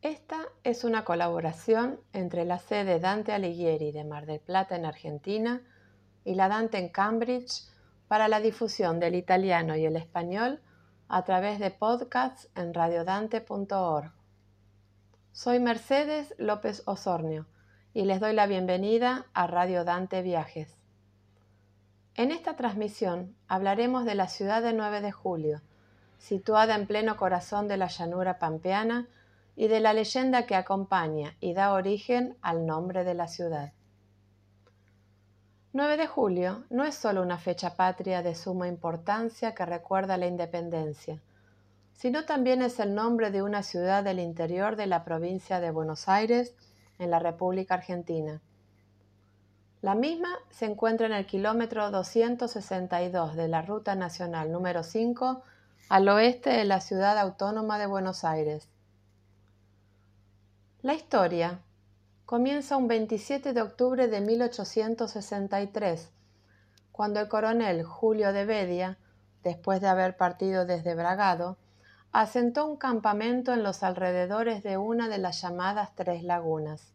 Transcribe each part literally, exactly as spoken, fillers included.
Esta es una colaboración entre la sede Dante Alighieri de Mar del Plata en Argentina y la Dante en Cambridge para la difusión del italiano y el español a través de podcasts en radiodante punto org. Soy Mercedes López Osornio y les doy la bienvenida a Radio Dante Viajes. En esta transmisión hablaremos de la ciudad de nueve de julio, situada en pleno corazón de la llanura pampeana, y de la leyenda que acompaña y da origen al nombre de la ciudad. nueve de julio no es solo una fecha patria de suma importancia que recuerda la independencia, sino también es el nombre de una ciudad del interior de la provincia de Buenos Aires, en la República Argentina. La misma se encuentra en el kilómetro doscientos sesenta y dos de la Ruta Nacional número cinco, al oeste de la ciudad autónoma de Buenos Aires. La historia comienza un veintisiete de octubre de mil ochocientos sesenta y tres, cuando el coronel Julio de Vedia, después de haber partido desde Bragado, asentó un campamento en los alrededores de una de las llamadas Tres Lagunas.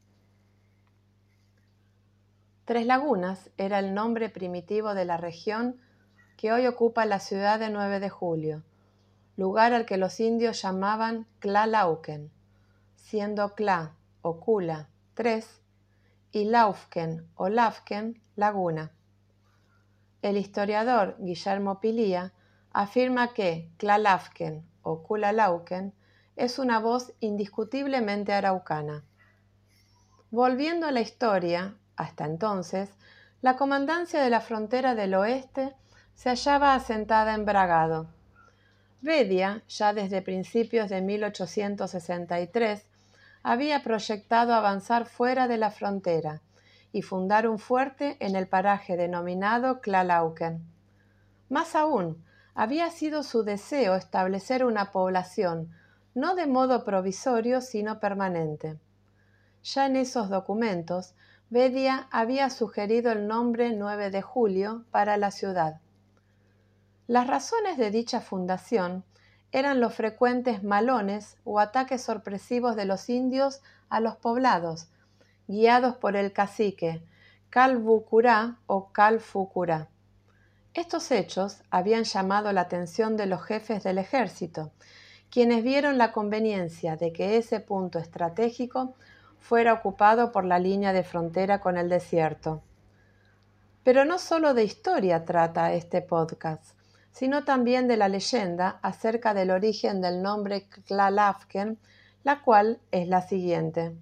Tres Lagunas era el nombre primitivo de la región que hoy ocupa la ciudad de nueve de julio, lugar al que los indios llamaban Tlalauquen, siendo Tla o Cula, tres, y Laufken o Lafken, laguna. El historiador Guillermo Pilía afirma que Tlalafken o Culalauquen es una voz indiscutiblemente araucana. Volviendo a la historia, hasta entonces, la comandancia de la frontera del oeste se hallaba asentada en Bragado. Vedia, ya desde principios de mil ochocientos sesenta y tres, había proyectado avanzar fuera de la frontera y fundar un fuerte en el paraje denominado Tlalauquen. Más aún, había sido su deseo establecer una población no de modo provisorio sino permanente. Ya en esos documentos, Vedia había sugerido el nombre nueve de julio para la ciudad. Las razones de dicha fundación eran los frecuentes malones o ataques sorpresivos de los indios a los poblados, guiados por el cacique Calbucurá o Calfucurá. Estos hechos habían llamado la atención de los jefes del ejército, quienes vieron la conveniencia de que ese punto estratégico fuera ocupado por la línea de frontera con el desierto. Pero no solo de historia trata este podcast, sino también de la leyenda acerca del origen del nombre Tlalafken, la cual es la siguiente.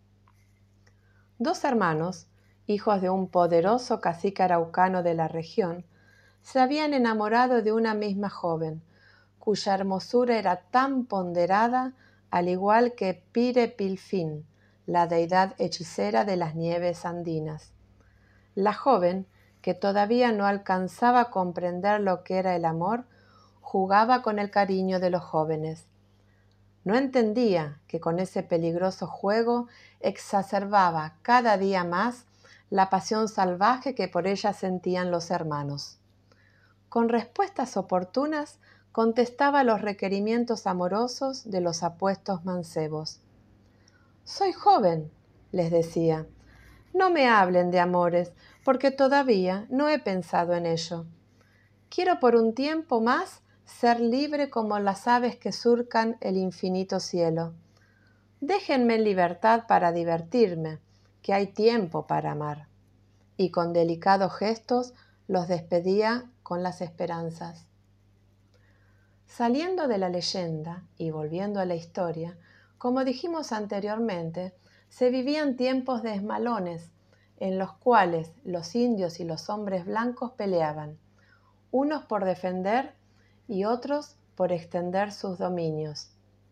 Dos hermanos, hijos de un poderoso cacique araucano de la región, se habían enamorado de una misma joven, cuya hermosura era tan ponderada al igual que Pire Pilfín, la deidad hechicera de las nieves andinas. La joven, que todavía no alcanzaba a comprender lo que era el amor, jugaba con el cariño de los jóvenes. No entendía que con ese peligroso juego exacerbaba cada día más la pasión salvaje que por ella sentían los hermanos. Con respuestas oportunas contestaba los requerimientos amorosos de los apuestos mancebos. «Soy joven», les decía. «No me hablen de amores, porque todavía no he pensado en ello. Quiero por un tiempo más ser libre como las aves que surcan el infinito cielo. Déjenme en libertad para divertirme, que hay tiempo para amar». Y con delicados gestos los despedía con las esperanzas. Saliendo de la leyenda y volviendo a la historia, como dijimos anteriormente, se vivían tiempos de esmalones, en los cuales los indios y los hombres blancos peleaban, unos por defender y otros por extender sus dominios.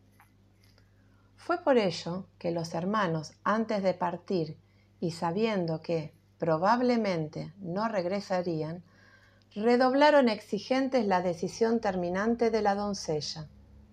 Fue por ello que los hermanos, antes de partir y sabiendo que probablemente no regresarían, redoblaron exigentes la decisión terminante de la doncella.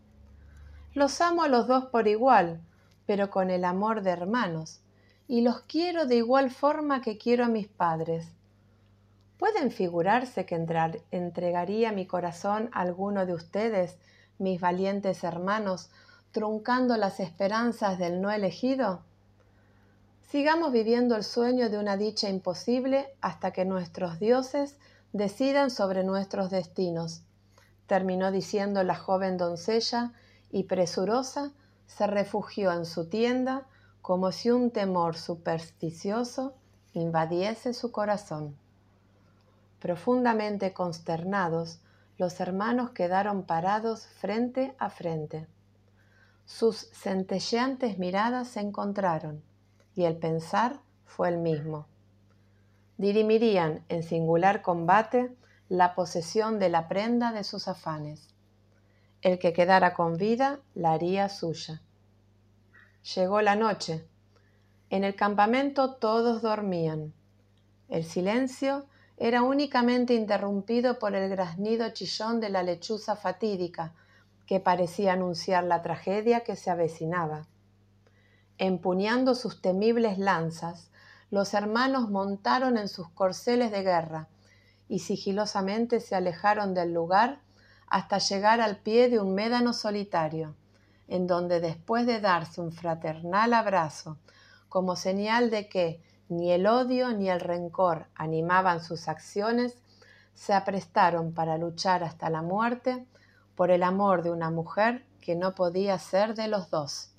«Los amo a los dos por igual, pero con el amor de hermanos, y los quiero de igual forma que quiero a mis padres. ¿Pueden figurarse que entrar, entregaría mi corazón a alguno de ustedes, mis valientes hermanos, truncando las esperanzas del no elegido? Sigamos viviendo el sueño de una dicha imposible hasta que nuestros dioses decidan sobre nuestros destinos, terminó diciendo la joven doncella, y presurosa se refugió en su tienda como si un temor supersticioso invadiese su corazón. Profundamente consternados, los hermanos quedaron parados frente a frente. Sus centelleantes miradas se encontraron, y el pensar fue el mismo. Dirimirían en singular combate la posesión de la prenda de sus afanes. El que quedara con vida la haría suya. Llegó la noche. En el campamento todos dormían. El silencio era únicamente interrumpido por el graznido chillón de la lechuza fatídica, que parecía anunciar la tragedia que se avecinaba. Empuñando sus temibles lanzas, los hermanos montaron en sus corceles de guerra y sigilosamente se alejaron del lugar hasta llegar al pie de un médano solitario, en donde después de darse un fraternal abrazo, como señal de que ni el odio ni el rencor animaban sus acciones, se aprestaron para luchar hasta la muerte por el amor de una mujer que no podía ser de los dos.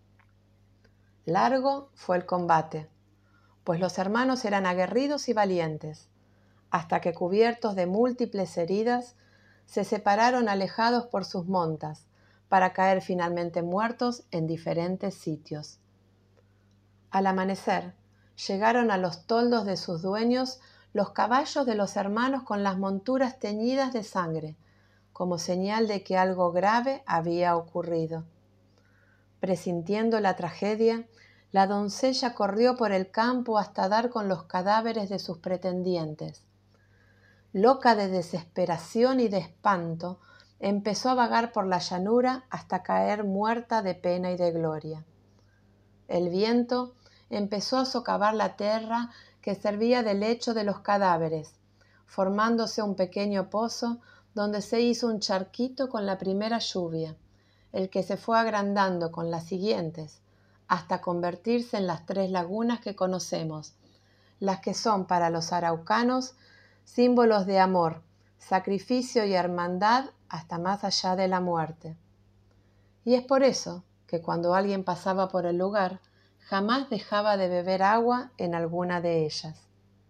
Largo fue el combate, pues los hermanos eran aguerridos y valientes, hasta que cubiertos de múltiples heridas, se separaron alejados por sus montas, para caer finalmente muertos en diferentes sitios. Al amanecer, llegaron a los toldos de sus dueños los caballos de los hermanos con las monturas teñidas de sangre, como señal de que algo grave había ocurrido. Presintiendo la tragedia, la doncella corrió por el campo hasta dar con los cadáveres de sus pretendientes. Loca de desesperación y de espanto, empezó a vagar por la llanura hasta caer muerta de pena y de gloria. El viento empezó a socavar la tierra que servía de lecho de los cadáveres, formándose un pequeño pozo donde se hizo un charquito con la primera lluvia, el que se fue agrandando con las siguientes, hasta convertirse en las tres lagunas que conocemos, las que son para los araucanos símbolos de amor, sacrificio y hermandad hasta más allá de la muerte. Y es por eso que cuando alguien pasaba por el lugar, jamás dejaba de beber agua en alguna de ellas.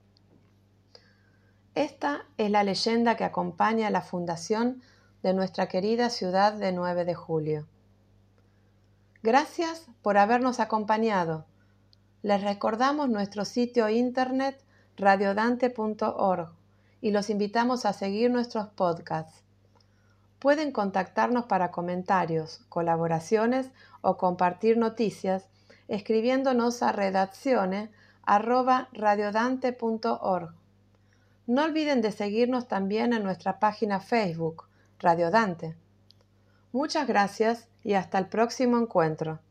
Esta es la leyenda que acompaña la fundación de nuestra querida ciudad de nueve de julio. Gracias por habernos acompañado. Les recordamos nuestro sitio internet radiodante punto org y los invitamos a seguir nuestros podcasts. Pueden contactarnos para comentarios, colaboraciones o compartir noticias escribiéndonos a redacciones arroba radiodante punto org. No olviden de seguirnos también en nuestra página Facebook, Radio Dante. Muchas gracias y hasta el próximo encuentro.